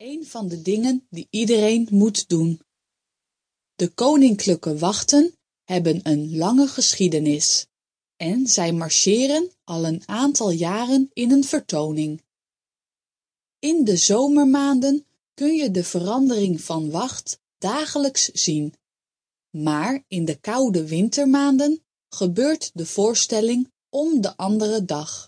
een van de dingen die iedereen moet doen. De koninklijke wachten hebben een lange geschiedenis en zij marcheren al een aantal jaren in een vertoning. In de zomermaanden kun je de verandering van wacht dagelijks zien, maar in de koude wintermaanden gebeurt de voorstelling om de andere dag.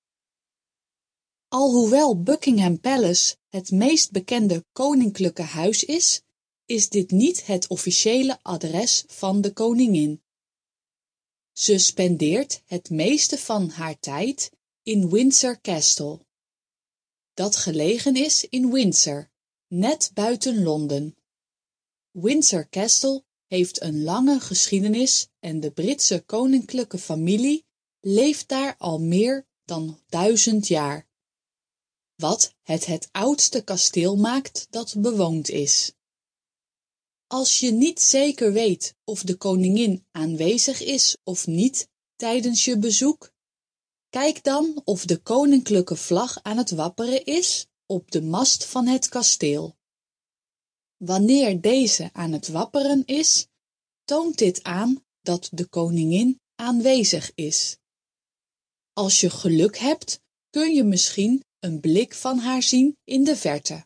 Alhoewel Buckingham Palace het meest bekende koninklijke huis is, is dit niet het officiële adres van de koningin. Ze spendeert het meeste van haar tijd in Windsor Castle, dat gelegen is in Windsor, net buiten Londen. Windsor Castle heeft een lange geschiedenis en de Britse koninklijke familie leeft daar al meer dan 1000 jaar, wat het oudste kasteel maakt dat bewoond is. Als je niet zeker weet of de koningin aanwezig is of niet tijdens je bezoek, kijk dan of de koninklijke vlag aan het wapperen is op de mast van het kasteel. Wanneer deze aan het wapperen is, toont dit aan dat de koningin aanwezig is. Als je geluk hebt, kun je misschien een blik van haar zien in de verte.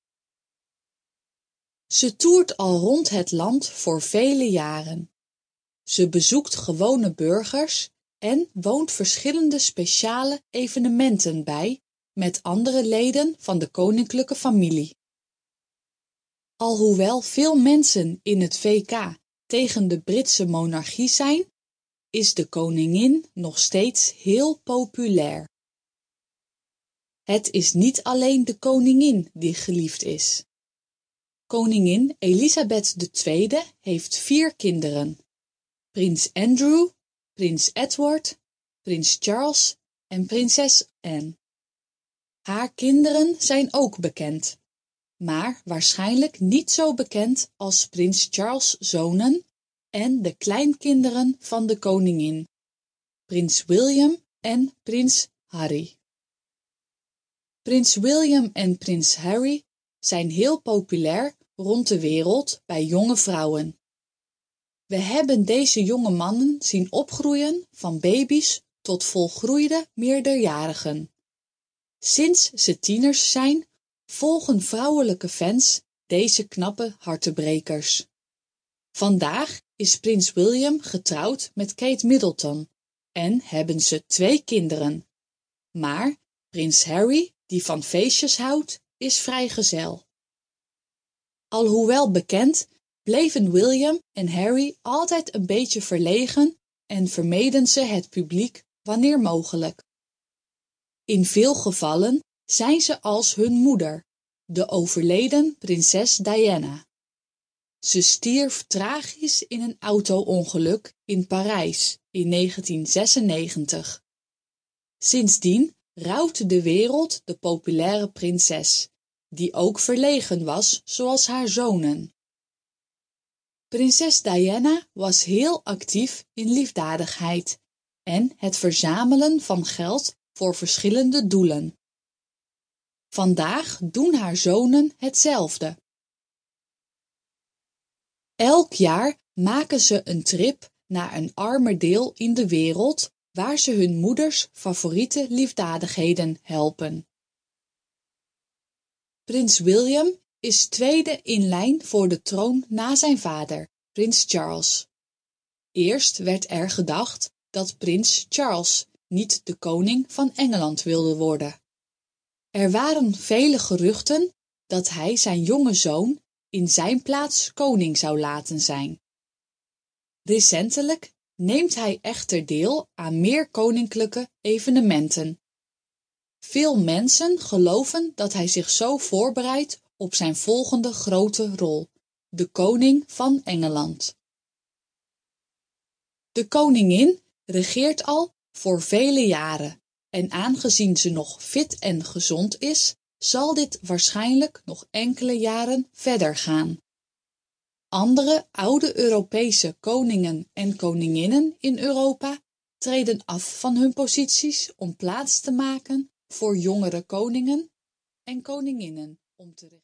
Ze toert al rond het land voor vele jaren. Ze bezoekt gewone burgers en woont verschillende speciale evenementen bij met andere leden van de koninklijke familie. Alhoewel veel mensen in het VK tegen de Britse monarchie zijn, is de koningin nog steeds heel populair. Het is niet alleen de koningin die geliefd is. Koningin Elizabeth II heeft 4 kinderen: prins Andrew, prins Edward, prins Charles en prinses Anne. Haar kinderen zijn ook bekend, maar waarschijnlijk niet zo bekend als prins Charles' zonen en de kleinkinderen van de koningin, prins William en prins Harry. Prins William en prins Harry zijn heel populair rond de wereld bij jonge vrouwen. We hebben deze jonge mannen zien opgroeien van baby's tot volgroeide meerderjarigen. Sinds ze tieners zijn, volgen vrouwelijke fans deze knappe hartebrekers. Vandaag is prins William getrouwd met Kate Middleton en hebben ze 2 kinderen. Maar prins Harry, die van feestjes houdt, is vrijgezel. Alhoewel bekend, bleven William en Harry altijd een beetje verlegen en vermeden ze het publiek wanneer mogelijk. In veel gevallen zijn ze als hun moeder, de overleden prinses Diana. Ze stierf tragisch in een auto-ongeluk in Parijs in 1996. Sindsdien rouwt de wereld de populaire prinses, die ook verlegen was zoals haar zonen. Prinses Diana was heel actief in liefdadigheid en het verzamelen van geld voor verschillende doelen. Vandaag doen haar zonen hetzelfde. Elk jaar maken ze een trip naar een armer deel in de wereld waar ze hun moeders favoriete liefdadigheden helpen. Prins William is tweede in lijn voor de troon na zijn vader, prins Charles. Eerst werd er gedacht dat prins Charles niet de koning van Engeland wilde worden. Er waren vele geruchten dat hij zijn jonge zoon in zijn plaats koning zou laten zijn. Recentelijk neemt hij echter deel aan meer koninklijke evenementen. Veel mensen geloven dat hij zich zo voorbereidt op zijn volgende grote rol, de koning van Engeland. De koningin regeert al voor vele jaren en aangezien ze nog fit en gezond is, zal dit waarschijnlijk nog enkele jaren verder gaan. Andere oude Europese koningen en koninginnen in Europa treden af van hun posities om plaats te maken voor jongere koningen en koninginnen om te regeren.